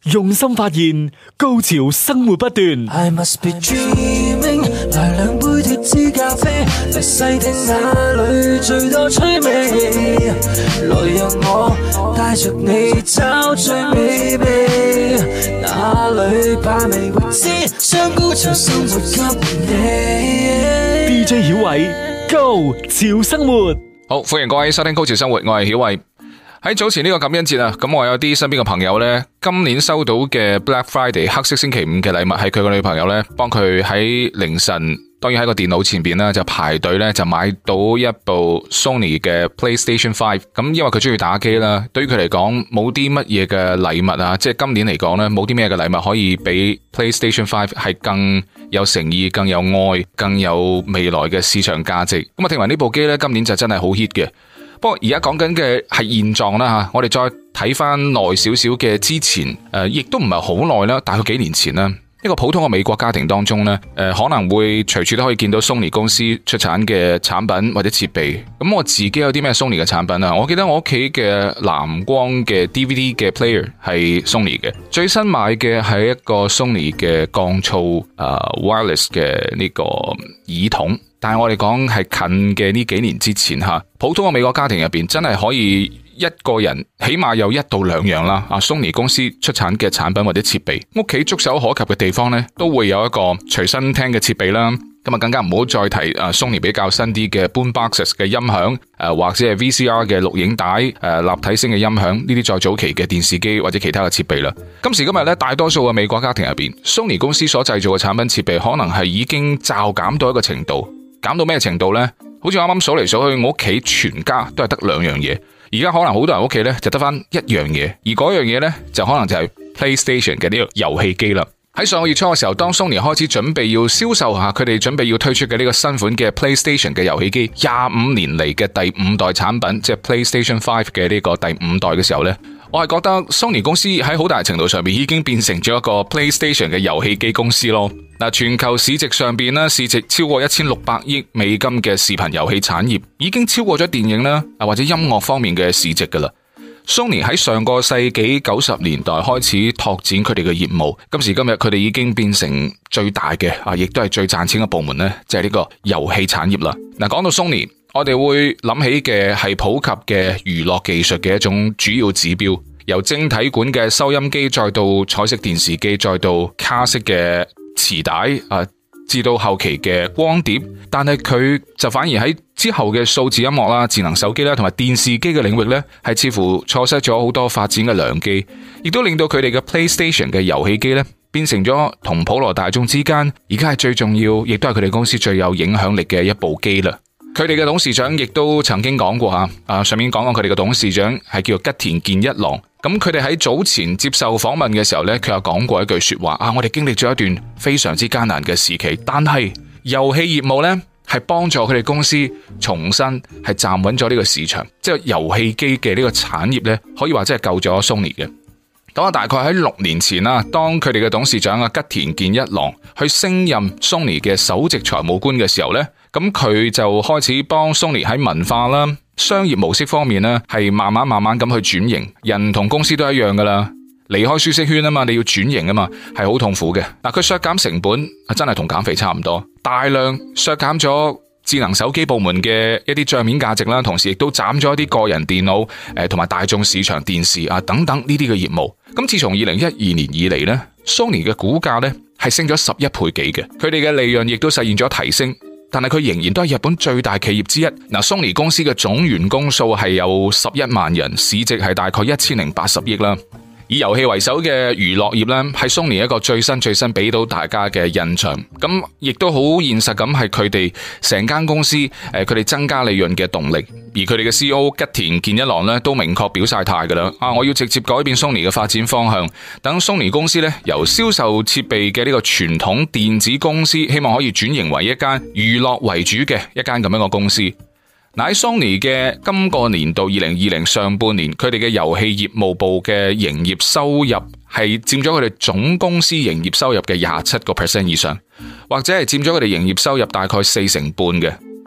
用心發現，高潮生活不斷。 I must be dreaming， 來兩杯脫脂咖啡，嚟細聽哪裏最多趣味，來讓我帶着你找最美味，哪裏把味未知，將高潮生活給你。 DJ 曉偉，高潮生活。 好，歡迎各位收聽高潮生活，我係曉偉。喺早前呢個感恩節啊，咁我有啲身邊嘅朋友呢，今年收到嘅 Black Friday 黑色星期五嘅禮物係佢個女朋友呢，幫佢喺凌晨，當然喺個電腦前邊呢，就排隊呢，就買到一部 Sony 嘅 PlayStation 5。咁因為佢中意打機啦，對於佢嚟講冇啲乜嘢嘅禮物啊，即係今年嚟講呢，冇啲咩嘅禮物可以比 PlayStation 5係更有誠意、更有愛、更有未來嘅市場價值。咁啊，聽聞呢部機呢，今年就真係好 hit 嘅。不過而家講緊嘅係現狀啦吓，我哋再睇翻耐少少嘅之前，亦都唔係好耐啦，大概幾年前啦，一個普通嘅美國家庭當中呢，可能會隨處都可以見到 Sony 公司出產嘅產品或者設備。咁我自己有啲咩 Sony 嘅產品啊？我記得我屋企嘅藍光嘅 DVD 嘅 player 係 Sony 嘅，最新買嘅係一個 Sony 嘅降噪wireless 嘅呢個耳筒。但係我哋講係近嘅呢幾年之前吓，普通嘅美國家庭入邊真係可以一個人起碼有1到2樣啦。Sony 公司出產嘅產品或者設備，屋企觸手可及嘅地方呢，都會有一個隨身聽嘅設備啦。咁啊，更加唔好再提Sony 比較新啲嘅 Boomboxes 嘅音響，或者係 VCR 嘅錄影帶，立體聲嘅音響，呢啲再早期嘅電視機或者其他嘅設備啦。今時今日咧，大多數嘅美國家庭入邊，Sony 公司所製造嘅產品設備可能係已經驟減到一個程度。減到咩程度呢？好似啱啱數嚟數去，我屋企全家都係得2樣嘢。而家可能好多人屋企咧就得翻1樣嘢，而嗰樣嘢咧就可能就係 PlayStation 嘅呢個遊戲機啦。喺上個月初嘅時候，當 Sony 開始準備要銷售下佢哋準備要推出嘅呢個新款嘅 PlayStation 嘅遊戲機，25年嚟嘅第5代產品，即係 PlayStation 5嘅呢個第5代嘅時候咧，我係覺得 Sony 公司喺好大程度上面已經變成咗一個 PlayStation 嘅遊戲機公司咯。嗱，全球市值上邊咧，市值超過1600億美金嘅視頻遊戲產業，已經超過咗電影啦，或者音樂方面嘅市值噶啦。Sony 喺上個世紀90年代開始拓展佢哋嘅業務，今時今日佢哋已經變成最大嘅亦都係最賺錢嘅部門咧，就係呢個遊戲產業啦。嗱，講到 Sony，我哋會諗起嘅係普及嘅娛樂技術嘅一種主要指標，由晶體管嘅收音機，再到彩色電視機，再到卡式嘅磁帶至到後期嘅光碟，但係佢就反而喺之後嘅數字音樂啦、智能手機啦同埋電視機嘅領域呢，係似乎錯失咗好多發展嘅良機，亦都令到佢哋嘅 PlayStation 嘅遊戲機呢，變成咗同普羅大眾之間而家係最重要，亦都係佢哋公司最有影響力嘅一部機啦。佢哋嘅董事長亦都曾經講過上面講過佢哋嘅董事長係叫做吉田健一郎。咁佢哋喺早前接受訪問嘅時候呢，佢有講過一句說話我哋經歷咗一段非常之艱難嘅時期，但係遊戲業務呢，係幫助佢哋公司重新係站穩咗呢個市場，即係遊戲機嘅呢個產業呢，可以話真係救咗 Sony 嘅。咁大概喺6年前啦，當佢哋嘅董事長吉田健一郎去升任 Sony 嘅首席財務官嘅時候呢，咁佢就開始幫 Sony 喺文化啦、商業模式方面呢，係慢慢咁去轉型。人同公司都一樣噶啦，離開舒適圈啊嘛，你要轉型啊嘛，係好痛苦嘅。嗱，佢削減成本真係同減肥差唔多，大量削減咗智能手機部門嘅一啲賬面價值啦，同時亦都斬咗一啲個人電腦同埋大眾市場電視等等呢啲嘅業務。咁自從2012年以嚟呢， Sony 嘅股價呢係升咗11倍幾嘅，佢哋嘅利潤亦都實現咗提升。但係佢仍然都係日本最大企業之一。嗱，Sony 公司嘅總員工數係有11萬人，市值係大概1080億啦。以遊戲為首嘅娛樂業咧，係 Sony 一個最新俾到大家嘅印象。咁亦都好現實咁，係佢哋成間公司佢哋增加利潤嘅動力。而佢哋嘅 CEO 吉田健一郎咧都明確表晒態噶啦，我要直接改變 Sony 嘅發展方向，等 Sony 公司咧由銷售設備嘅呢個傳統電子公司，希望可以轉型為一間娛樂為主嘅一間咁樣嘅公司。嗱，喺 Sony 嘅今個年度2020上半年，佢哋嘅遊戲業務部嘅營業收入係佔咗佢哋總公司營業收入嘅27% 以上，或者係佔咗佢哋營業收入大概40%嘅。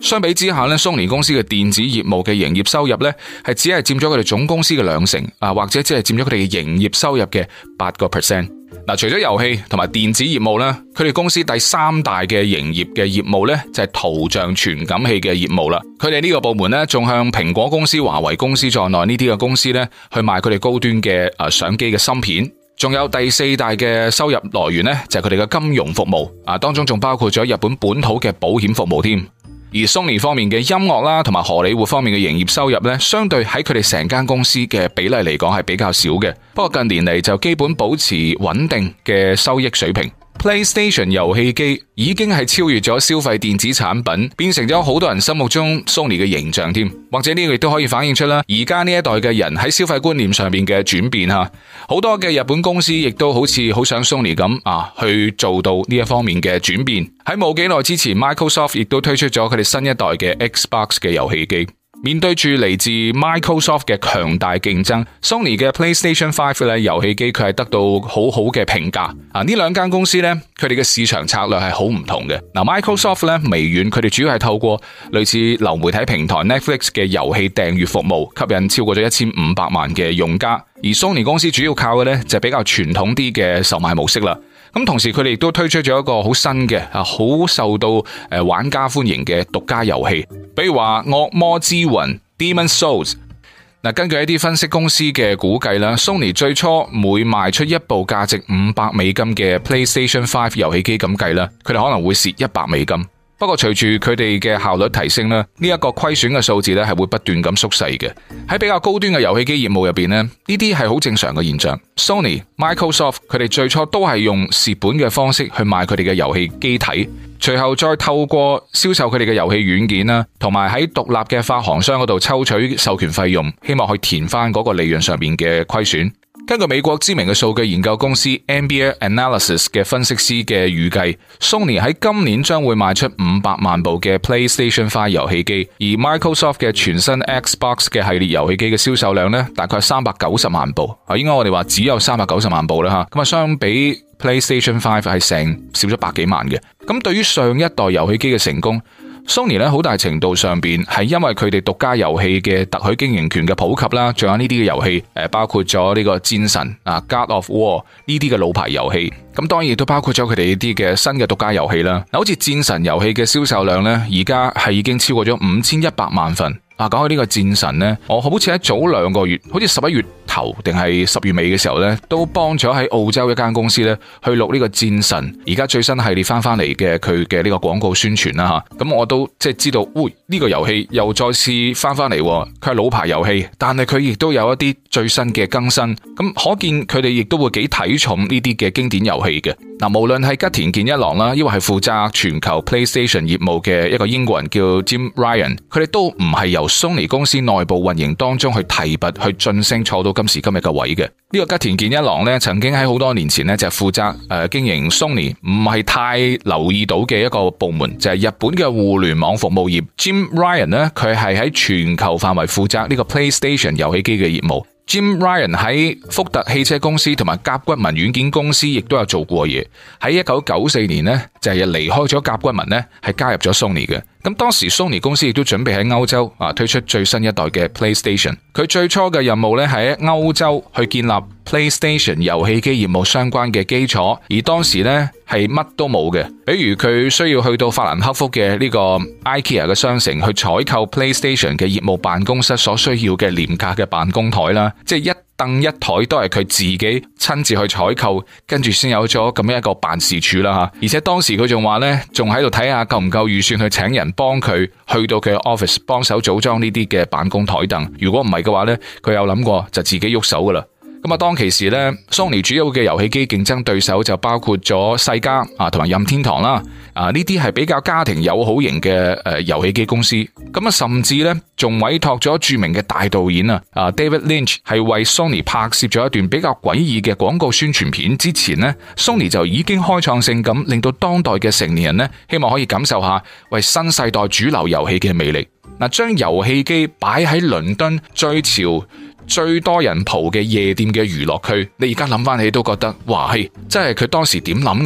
相比之下咧，Sony 公司嘅電子業務嘅營業收入咧係只係佔咗佢哋總公司嘅2成，或者只係佔咗佢哋嘅營業收入嘅8%。嗱，除咗遊戲同埋電子業務咧，佢哋公司第3大嘅營業嘅業務咧就係圖像傳感器嘅業務啦。佢哋呢個部門咧仲向蘋果公司、華為公司在內呢啲嘅公司咧去賣佢哋高端嘅相機嘅芯片。仲有第4大嘅收入來源咧就係佢哋嘅金融服務，當中仲包括咗日本本土嘅保險服務添。而 Sony 方面嘅音樂啦，同埋荷里活方面嘅營業收入咧，相對喺佢哋成間公司嘅比例嚟講係比較少嘅。不過近年嚟就基本保持穩定嘅收益水平。PlayStation 遊戲機已經係超越咗消費電子產品，變成咗好多人心目中 Sony 嘅形象添。或者呢個亦都可以反映出啦，而家呢一代嘅人喺消費觀念上面嘅轉變吓，好多嘅日本公司亦都好似好想 Sony 咁去做到呢一方面嘅轉變。喺冇幾耐之前 ，Microsoft 亦都推出咗佢哋新一代嘅 Xbox 嘅遊戲機。面對住嚟自 Microsoft 嘅強大競爭 ，Sony 嘅 PlayStation 5咧遊戲機佢係得到好好嘅評價。呢兩間公司咧，佢哋嘅市場策略係好唔同嘅。Microsoft 咧微軟佢哋主要係透過類似流媒體平台 Netflix 嘅遊戲訂閱服務，吸引超過咗1500萬嘅用家。而 Sony 公司主要靠嘅咧就係比較傳統啲嘅售賣模式啦。咁同時佢哋亦都推出咗一個好新嘅好受到玩家歡迎嘅獨家遊戲，比如話惡魔之魂 Demon's Souls。根據一啲分析公司嘅估計啦， Sony 最初每賣出一部價值$500嘅 PlayStation 5遊戲機咁計啦，佢哋可能會蝕$100。不過隨住佢哋嘅效率提升咧，呢一個虧損嘅數字咧係會不斷咁縮細嘅。喺比較高端嘅遊戲機業務入邊咧，呢啲係好正常嘅現象。Sony、Microsoft 佢哋最初都係用蝕本嘅方式去賣佢哋嘅遊戲機體，隨後再透過銷售佢哋嘅遊戲軟件啦，同埋喺獨立嘅發行商嗰度抽取授權費用，希望去填翻嗰個利潤上面嘅虧損。根據美國知名嘅數據研究公司 NBA Analysis 嘅分析師嘅預計， Sony 喺今年將會賣出500萬部嘅 PlayStation 5遊戲機，而 Microsoft 嘅全新 Xbox 嘅系列遊戲機嘅銷售量呢，大概390萬部。應該我哋話只有390萬部啦吓，咁相比 PlayStation 5係成少咗100幾萬嘅。咁對於上一代遊戲機嘅成功，Sony 咧好大程度上邊係因為佢哋獨家遊戲嘅特許經營權嘅普及啦，仲有呢啲嘅遊戲包括咗呢個戰神God of War 呢啲嘅老牌遊戲，咁當然亦都包括咗佢哋呢啲嘅新嘅獨家遊戲啦。好似戰神遊戲嘅銷售量咧，而家係已經超過咗5100萬份。講起呢個戰神呢，我好似喺早2個月，好似11月頭定係10月尾嘅時候呢，都幫咗喺澳洲一間公司呢去錄呢個戰神而家最新系列翻嚟嘅佢嘅呢個廣告宣傳啦吓。咁我都即係知道，呢個遊戲又再次翻嚟，佢係老牌遊戲，但係佢亦都有一啲最新嘅更新。咁可見佢哋亦都會幾睇重呢啲嘅經典遊戲嘅。無論係吉田健一郎啦，抑或係負責全球 PlayStation 業務嘅一個英國人叫 Jim Ryan， 佢哋都唔係由 Sony 公司內部運營當中去提拔去晉升坐到今時今日嘅位嘅。呢個吉田健一郎咧，曾經喺好多年前咧就係負責經營 Sony 唔係太留意到嘅一個部門，就係日本嘅互聯網服務業。Jim Ryan 咧，佢係喺全球範圍負責呢個 PlayStation 遊戲機嘅業務。Jim Ryan 喺福特汽車公司同埋甲骨文軟件公司亦都有做過嘢。喺1994年呢，就係離開咗甲骨文呢，係加入咗 Sony 嘅。咁當時 Sony 公司亦都準備喺歐洲推出最新一代嘅 PlayStation。佢最初嘅任務呢，係喺歐洲去建立 PlayStation 遊戲機業務相關嘅基礎，而當時呢係乜都冇嘅。比如佢需要去到法蘭克福嘅呢個 IKEA 嘅商城去採購 PlayStation 嘅業務辦公室所需要嘅廉價嘅辦公台啦，即係一凳一台都係佢自己親自去採購，跟住先有咗咁樣一個辦事處啦吓。而且當時佢仲話呢，仲喺度睇下夠唔夠預算去請人幫佢去到佢嘅 office 幫手組裝呢啲嘅辦公台凳。如果唔係嘅話呢，佢有諗過就自己喐手噶啦。咁當其時咧 Sony 主要嘅遊戲機競爭對手就包括咗世嘉同埋任天堂啦，呢啲係比較家庭友好型嘅遊戲機公司。咁甚至咧仲委託咗著名嘅大導演David Lynch 係為 Sony 拍攝咗一段比較詭異嘅廣告宣傳片。之前咧 Sony 就已經開創性咁令到當代嘅成年人咧希望可以感受下為新世代主流遊戲嘅魅力。將遊戲機擺喺倫敦最潮最多人蒲嘅夜店嘅娛樂區，你而家諗翻起都覺得哇，真係佢當時點諗嘅呢？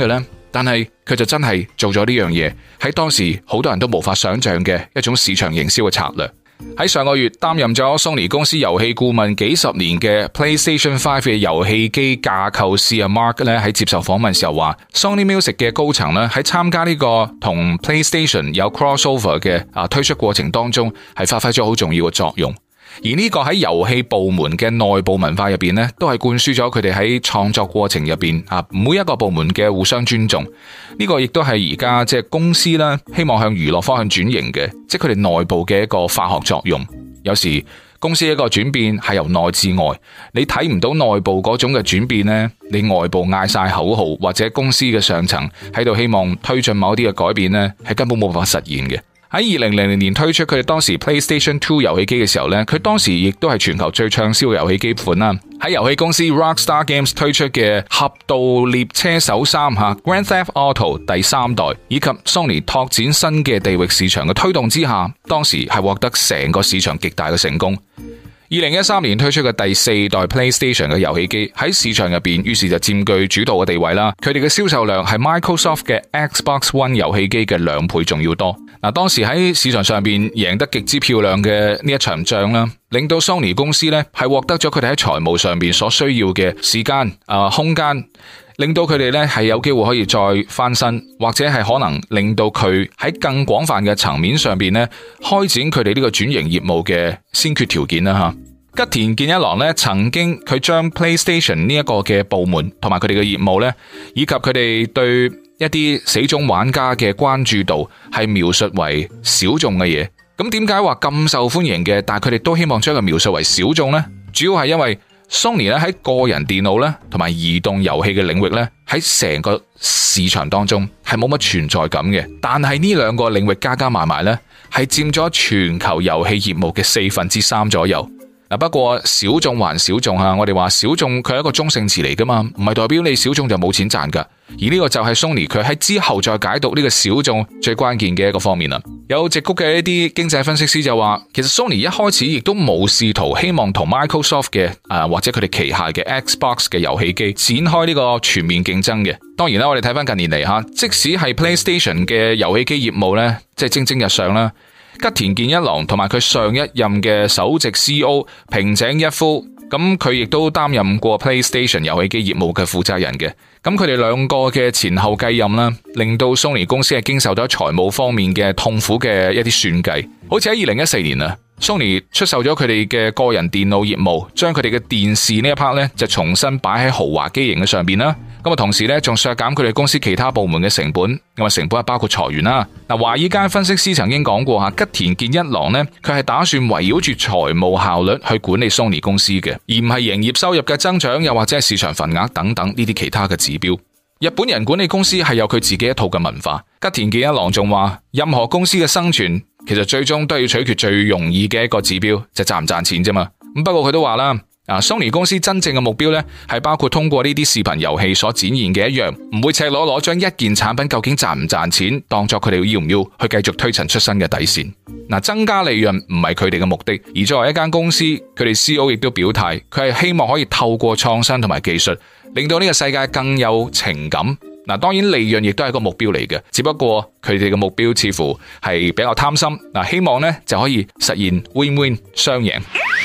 但係佢就真係做咗呢樣嘢，喺當時好多人都無法想象嘅一種市場營銷嘅策略。喺上個月擔任咗 Sony 公司遊戲顧問幾十年嘅 PlayStation 5嘅遊戲機架構師阿 Mark 咧，喺接受訪問時候話 Sony Music 嘅高層咧，喺參加呢個同 PlayStation 有 crossover 嘅推出過程當中係發揮咗好重要嘅作用。而呢個喺遊戲部門嘅內部文化入邊呢，都係灌輸咗佢哋喺創作過程入邊每一個部門嘅互相尊重。呢個亦都係而家即係公司啦，希望向娛樂方向轉型嘅，即係佢哋內部嘅一個化學作用。有時公司一個轉變係由內至外，你睇唔到內部嗰種嘅轉變呢，你外部嗌晒口號或者公司嘅上層喺度希望推進某啲嘅改變呢，係根本冇辦法實現嘅。喺2000年推出佢哋當時 PlayStation 2遊戲機嘅時候呢，佢當時亦都係全球最暢銷嘅遊戲機款啦。喺遊戲公司 Rockstar Games 推出嘅《俠盜獵車手3》Grand Theft Auto 第3代，以及 Sony 拓展新嘅地域市場嘅推動之下，當時係獲得成個市場極大嘅成功。2013年推出嘅第4代 PlayStation 嘅遊戲機喺市場入邊，於是就佔據主導嘅地位啦。佢哋嘅銷售量係 Microsoft 嘅 Xbox One 遊戲機嘅2倍仲要多。當時喺市場上邊贏得極之漂亮嘅呢一場仗啦，令到 Sony 公司咧係獲得咗佢哋喺財務上邊所需要嘅時間空間，令到佢哋咧係有機會可以再翻身，或者係可能令到佢喺更廣泛嘅層面上邊咧開展佢哋呢個轉型業務嘅先決條件啦吓。吉田健一郎咧曾經佢將 PlayStation 呢一個嘅部門同埋佢哋嘅業務咧，以及佢哋對一啲死忠玩家嘅關注度係描述為小眾嘅嘢。咁點解話咁受歡迎嘅，但係佢哋都希望將佢描述為小眾呢？主要係因為 Sony 咧喺個人電腦咧同埋移動遊戲嘅領域咧，喺成個市場當中係冇乜存在感嘅。但係呢兩個領域加加埋埋咧，係佔咗全球遊戲業務嘅3/4左右。不過小眾還小眾我哋話小眾佢係一個中性詞嚟噶嘛，唔係代表你小眾就冇錢賺噶。而呢個就係 Sony 佢喺之後再解讀呢個小眾最關鍵嘅一個方面啦。有矽谷嘅一啲經濟分析師就話，其實 Sony 一開始亦都冇試圖希望同 Microsoft 嘅或者佢哋旗下嘅 Xbox 嘅遊戲機展開呢個全面競爭嘅。當然啦，我哋睇翻近年嚟即使係 PlayStation 嘅遊戲機業務咧，即係蒸蒸日上啦。吉田健一郎同埋佢上一任嘅首席 CEO 平井一夫，咁佢亦都擔任過 PlayStation 遊戲機業務嘅負責人嘅。咁佢哋兩個嘅前後繼任啦，令到 Sony 公司係經受咗財務方面嘅痛苦嘅一啲算計。好似喺2014年Sony 出售咗佢哋嘅個人電腦業務，將佢哋嘅電視呢一 part 咧就重新擺喺豪華機型嘅上邊啦。咁同時咧仲削減佢哋公司其他部門嘅成本，咁成本係包括裁員啦。華爾街分析師曾經講過吉田健一郎呢，佢係打算圍繞住財務效率去管理 Sony 公司嘅，而唔係營業收入嘅增長，又或者係市場份額等等呢啲其他嘅指標。日本人管理公司係有佢自己一套嘅文化。吉田健一郎仲話，任何公司嘅生存其實最終都要取決最容易嘅一個指標，就賺唔賺錢啫嘛。不過佢都話啦，Sony 公司真正嘅目標呢，係包括通過呢啲視頻遊戲所展現嘅一樣，唔會赤裸裸將一件產品究竟賺唔賺錢當作佢哋要唔要去繼續推陳出新嘅底線。增加利潤唔係佢哋嘅目的，而作為一間公司，佢哋 CEO 亦都表態，佢係希望可以透過創新同埋技術，令到呢個世界更有情感。當然利潤亦都係一個目標嚟嘅，只不過佢哋嘅目標似乎係比較貪心。希望呢就可以實現 win-win 雙贏。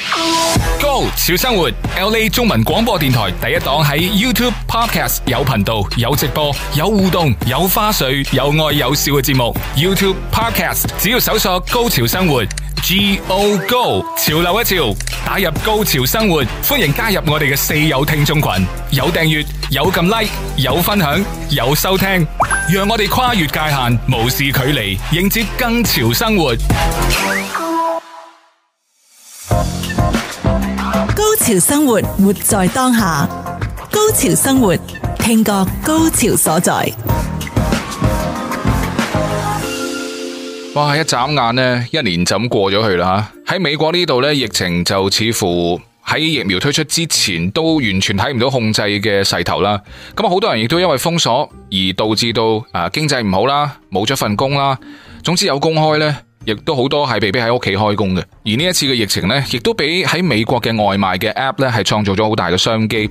Go 潮生活 LA 中文廣播電台第一檔，喺 YouTube Podcast 有頻道、有直播、有互動、有花絮、有愛有笑嘅節目。YouTube Podcast 只要搜索高潮生活 Go Go 潮流一潮，打入高潮生活，歡迎加入我哋嘅四友聽眾群，有訂閱、有撳 like、有分享、有收聽，讓我哋跨越界限，無視距離，迎接更潮生活。 高潮生活，活在當下。高潮生活，聽覺高潮所在。 哇！一眨眼呢，一年就咁過咗去啦吓。喺美國呢度呢，疫情就似乎喺疫苗推出之前都完全睇唔到控制嘅勢頭啦。咁好多人亦都因為封鎖而導致到經濟唔好啦，冇咗份工啦。總之有工開呢，亦都好多係被逼喺屋企開工嘅。而呢一次嘅疫情呢，亦都俾喺美國嘅外賣嘅 app 呢係創造咗好大嘅商機。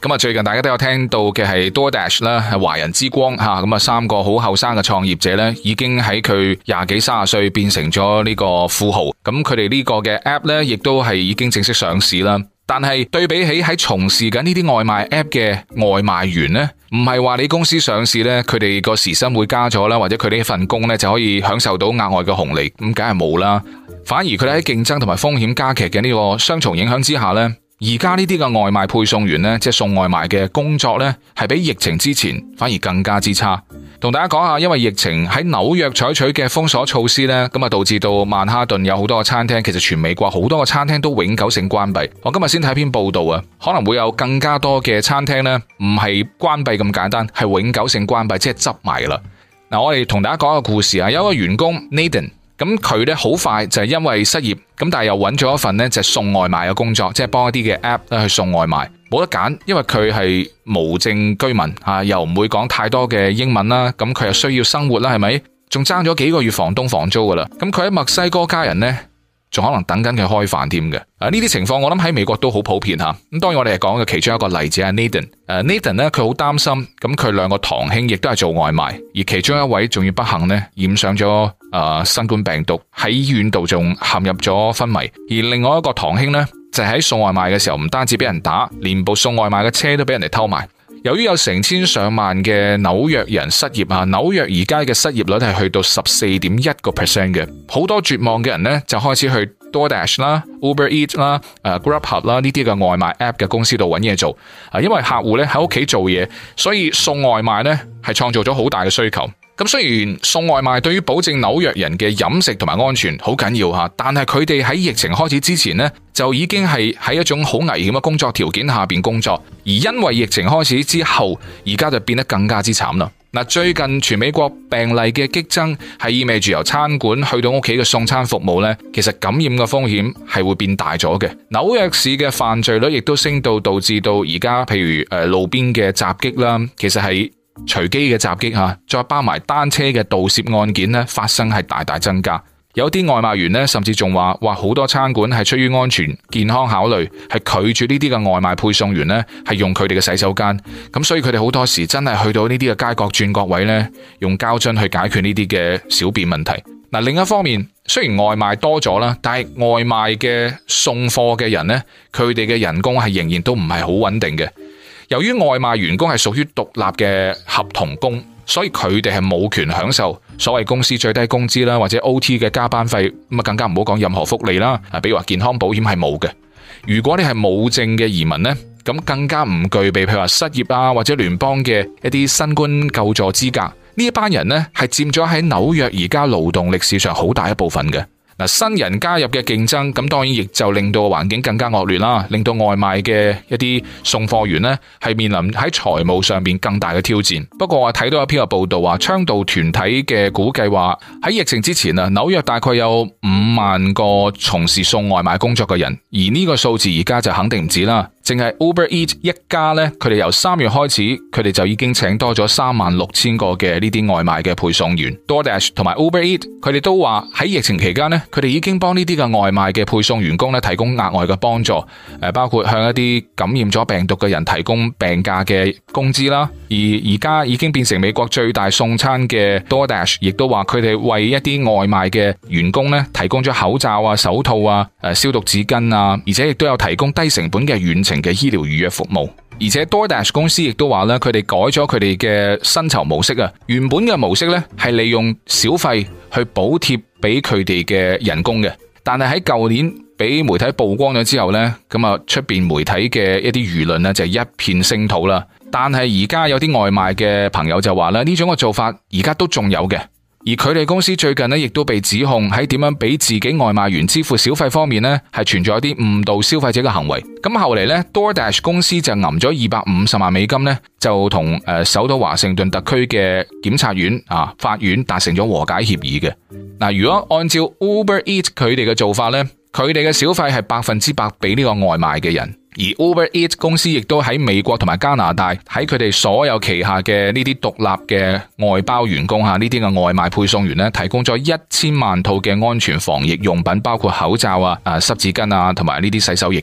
咁啊，最近大家都有聽到嘅係 DoorDash 啦，係華人之光吓，咁啊3個好後生嘅創業者咧，已經喺佢20幾30歲變成咗呢個富豪。咁佢哋呢個嘅 app 咧，亦都係已經正式上市啦。但係對比起喺從事緊呢啲外賣 app 嘅外賣員呢，唔係話你公司上市呢，佢哋個時薪會加咗啦，或者佢哋一份工呢就可以享受到額外嘅紅利，咁梗係冇啦。反而佢哋喺競爭同埋風險加劇嘅呢個雙重影響之下呢，而家呢啲嘅外賣配送員呢，即係送外賣嘅工作呢，係比疫情之前反而更加之差。同大家講下，因為疫情喺紐約採取嘅封鎖措施呢，咁啊導致到曼哈頓有好多個餐廳，其實全美國好多個餐廳都永久性關閉。我今日先睇篇報道啊，可能會有更加多嘅餐廳呢，唔係關閉咁簡單，係永久性關閉，即係執埋啦。嗱，我哋同大家講一個故事啊，有一個員工 Nathan。咁佢咧好快就係因為失業，咁但係又揾咗一份咧就係送外賣嘅工作，即係幫一啲嘅 app 咧去送外賣，冇得揀，因為佢係無證居民啊，又唔會講太多嘅英文啦，咁佢又需要生活啦，係咪？仲爭咗幾個月房東房租噶啦，咁佢喺墨西哥家人呢，仲可能等緊佢開飯添嘅。呢啲情況我諗喺美國都好普遍吓。咁當然我哋係講嘅其中一個例子係 Nathan。Nathan 咧佢好擔心，咁佢2個堂兄亦都係做外賣，而其中一位仲要不幸呢染上咗新冠病毒，喺醫院度仲陷入咗昏迷。而另外一個堂兄呢，就喺送外賣嘅時候唔單止俾人打，連部送外賣嘅車都俾人哋偷埋。由於有成千上萬嘅紐約人失業啊，紐約而家嘅失業率係去到14.1% 嘅，好多絕望嘅人呢，就開始去 DoorDash 啦、Uber Eats 啦、Grubhub 啦呢啲嘅外賣 app 嘅公司度揾嘢做啊，因為客戶咧喺屋企做嘢，所以送外賣呢係創造咗好大嘅需求。咁雖然送外賣對於保證紐約人嘅飲食同埋安全好緊要吓，但係佢哋喺疫情開始之前呢，就已經係喺一種好危險嘅工作條件下邊工作，而因為疫情開始之後，而家就變得更加之慘啦。嗱，最近全美國病例嘅激增係意味住由餐館去到屋企嘅送餐服務呢，其實感染嘅風險係會變大咗嘅。紐約市嘅犯罪率亦都升到導致到而家譬如路邊嘅襲擊啦，其實係隨機嘅襲擊吓，再包埋單車嘅盜竊案件咧，發生係大大增加。有啲外賣員咧，甚至仲話好多餐館係出於安全健康考慮，係拒絕呢啲嘅外賣配送員咧，係用佢哋嘅洗手間。咁所以佢哋好多時真係去到呢啲嘅街角轉角位咧，用膠樽去解決呢啲嘅小便問題。嗱，另一方面，雖然外賣多咗啦，但係外賣嘅送貨嘅人咧，佢哋嘅人工係仍然都唔係好穩定嘅。由於外賣員工係屬於獨立嘅合同工，所以佢哋係冇權享受所謂公司最低工資啦，或者 OT 嘅加班費，咁啊更加唔好講任何福利啦。比如話健康保險係冇嘅。如果你係冇證嘅移民呢，咁更加唔具備譬如話失業啊或者聯邦嘅一啲新冠救助資格。呢一班人呢係佔咗喺紐約而家勞動力市場好大一部分嘅。新人加入嘅競爭，咁當然亦就令到環境更加惡劣啦，令到外賣嘅一啲送貨員呢係面臨喺財務上邊更大嘅挑戰。不過我睇到一篇嘅報道話，倡導團體嘅估計話喺疫情之前啊，紐約大概有5萬個從事送外賣工作嘅人，而呢個數字而家就肯定唔止啦。淨係 Uber Eats 一家呢，佢哋由3月開始，佢哋就已經請多咗36000個嘅呢啲外賣嘅配送員。DoorDash 同埋 Uber Eats 佢哋都話喺疫情期間呢，佢哋已經幫呢啲嘅外賣嘅配送員工咧提供額外嘅幫助，包括向一啲感染咗病毒嘅人提供病假嘅工資啦。而家已經變成美國最大送餐嘅 DoorDash， 亦都話佢哋為一啲外賣嘅員工咧提供咗口罩啊、手套啊、消毒紙巾啊，而且亦都有提供低成本嘅遠程嘅醫療預約服務。而且 DoorDash 公司亦都話咧，佢哋改咗佢哋嘅薪酬模式啊。原本嘅模式咧係利用小費去補貼俾佢哋嘅人工嘅，但係喺舊年俾媒體曝光咗之後咧，咁啊出邊媒體嘅一啲輿論咧就一片聲討啦。但係而家有啲外賣嘅朋友就話咧，呢種嘅做法而家都仲有嘅。而佢哋公司最近呢，亦都被指控喺點樣俾自己外賣員支付小費方面呢，係存在一啲誤導消費者嘅行為。咁後嚟呢 DoorDash 公司就揞咗250萬美金呢，就同首都華盛頓特區嘅檢察院法院達成咗和解協議嘅。嗱，如果按照 Uber Eats 佢哋嘅做法呢，佢哋嘅小費係100%俾呢個外賣嘅人。而 Uber Eats 公司亦都喺美國同埋加拿大喺佢哋所有旗下嘅呢啲獨立嘅外包員工呢啲嘅外賣配送員呢，提供咗1000萬套嘅安全防疫用品，包括口罩濕紙巾同埋呢啲洗手液嘅。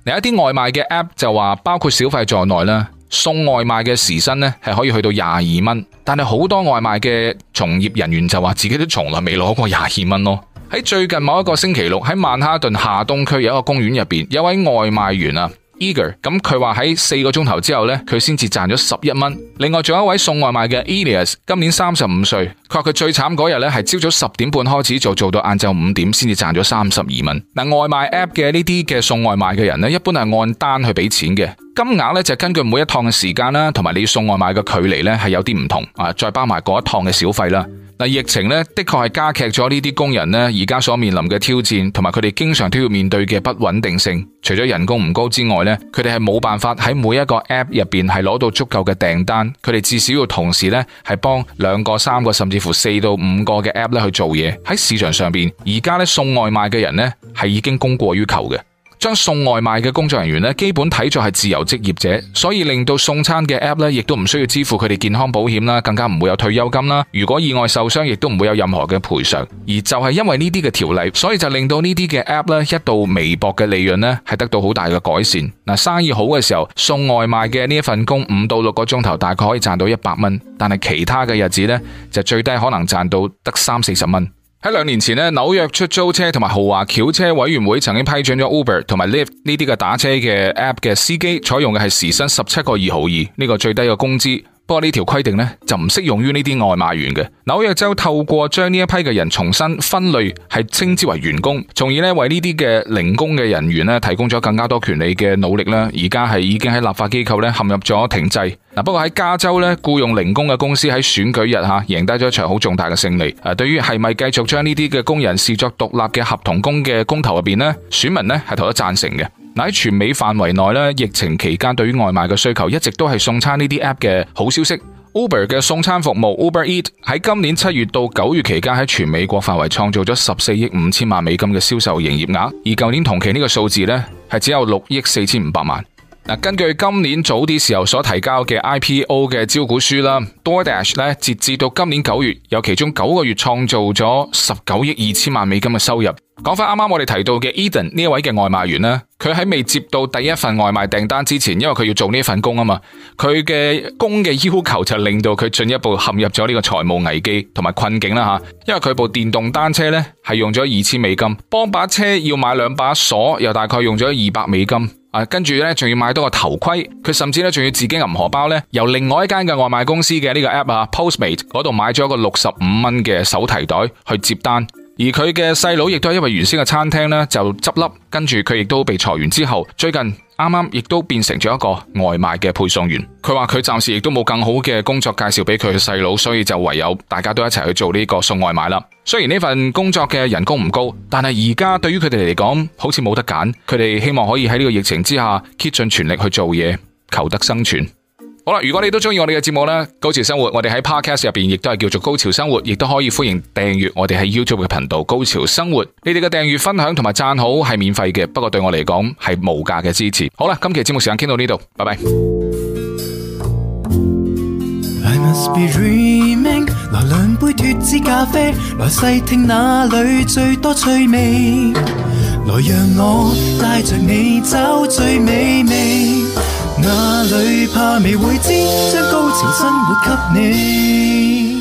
有一啲外賣嘅 app 就話包括小費在內啦，送外賣嘅時薪呢係可以去到22蚊，但係好多外賣嘅從業人員就話自己都從來未攞過22蚊咯。喺最近某一個星期六，喺曼哈頓下東區有一個公園入邊，有位外賣員啊 Eager， 咁佢話喺4個鐘頭之後呢，佢先至賺咗11蚊。另外仲有一位送外賣嘅 Elias， 今年35歲，佢話佢最慘嗰日呢係朝早10點半開始做到晏晝5點先至賺咗32蚊。嗱，外賣 app 嘅呢啲嘅送外賣嘅人呢，一般係按單去俾錢嘅，金額呢就根據每一趟嘅時間啦，同埋你送外賣嘅距離呢係有啲唔同啊，再包埋嗰一趟嘅小費啦。嗱，疫情呢的確係加劇咗呢啲工人呢而家所面臨嘅挑戰，同埋佢哋經常都要面對嘅不穩定性。除咗人工唔高之外呢，佢哋係冇辦法喺每一個 app 入邊係攞到足夠嘅訂單，佢哋至少要同時呢係幫2個、3個甚至乎4到5個嘅 app 咧去做嘢。喺市場上邊，而家呢送外賣嘅人呢係已經供過於求嘅。將送外賣嘅工作人員呢，基本睇作係自由職業者，所以令到送餐嘅 app 呢，亦都唔需要支付佢哋健康保險啦，更加唔會有退休金啦。如果意外受傷，亦都唔會有任何嘅賠償。而就係因為呢啲嘅條例，所以就令到呢啲嘅 app 呢，一度微薄嘅利潤呢，係得到好大嘅改善。嗱，生意好嘅時候，送外賣嘅呢一份工5到6個鐘頭，大概可以賺到100蚊，但係其他嘅日子呢，就最低可能賺到得30-40蚊。喺2年前呢，紐約出租車同埋豪華轎車委員會曾經批准咗 Uber 同埋 Lyft 呢啲嘅打車嘅 app 嘅司機採用嘅係時薪17個2毫2呢個最低嘅工資。不過呢條規定呢，就唔適用於呢啲外賣員嘅。紐約州透過將呢一批嘅人重新分類，係稱之為員工，從而呢為呢啲嘅零工嘅人員呢提供咗更加多權利嘅努力啦。而家係已經喺立法機構呢陷入咗停滯。不過喺加州呢，僱用零工嘅公司喺選舉日贏低咗一場好重大嘅勝利。對於係咪繼續將呢啲嘅工人視作獨立嘅合同工嘅公投入邊呢，選民呢係投咗贊成嘅。喺全美範圍內咧，疫情期間對於外賣嘅需求一直都係送餐呢啲 app 嘅好消息。Uber 嘅送餐服務 Uber Eat 喺今年7月到9月期間喺全美國範圍創造咗14億5千萬美金嘅銷售營業額，而舊年同期呢個數字呢係只有6億4500萬。根據今年早啲時候所提交嘅 IPO 嘅招股書啦 ，DoorDash 咧截至到今年9月，有其中9個月創造咗19億2千萬美金嘅收入。講翻啱啱我哋提到嘅 Eden 呢一位嘅外賣員呢，佢喺未接到第一份外賣訂單之前，因為佢要做呢份工啊嘛，佢嘅工嘅要求就令到佢進一步陷入咗呢個財務危機同埋困境啦吓。因為佢部電動單車呢係用咗2000美金，幫把車要買2把鎖，又大概用咗200美金。跟住呢，仲要買多個頭盔，佢甚至呢，仲要自己銀荷包呢，由另外一間嘅外賣公司嘅呢個 app Postmate 嗰度買咗一個65蚊嘅手提袋去接單。而佢嘅細佬亦都係因為原先嘅餐廳呢就執笠，跟住佢亦都被裁員之後，最近啱啱亦都變成咗一個外賣嘅配送員。佢話佢暫時亦都冇更好嘅工作介紹俾佢嘅細佬，所以就唯有大家都一齊去做呢個送外賣啦。雖然呢份工作嘅人工唔高，但係而家對於佢哋嚟講好似冇得揀，佢哋希望可以喺呢個疫情之下竭盡全力去做嘢，求得生存。好啦，如果你都中意我哋嘅節目咧，高潮生活，我哋喺 Podcast 入邊亦都係叫做高潮生活，亦都可以歡迎訂閱我哋喺 YouTube 嘅頻道高潮生活。你哋嘅訂閱、分享同埋讚好係免費嘅，不過對我嚟講係無價嘅支持。好啦，今期節目時間傾到呢度，拜拜。 I must be dreaming， 來2杯脫脂咖啡，來細聽哪裏最多趣味，來讓我帶着你找最美味，哪裏怕未會知，將高潮生活給你。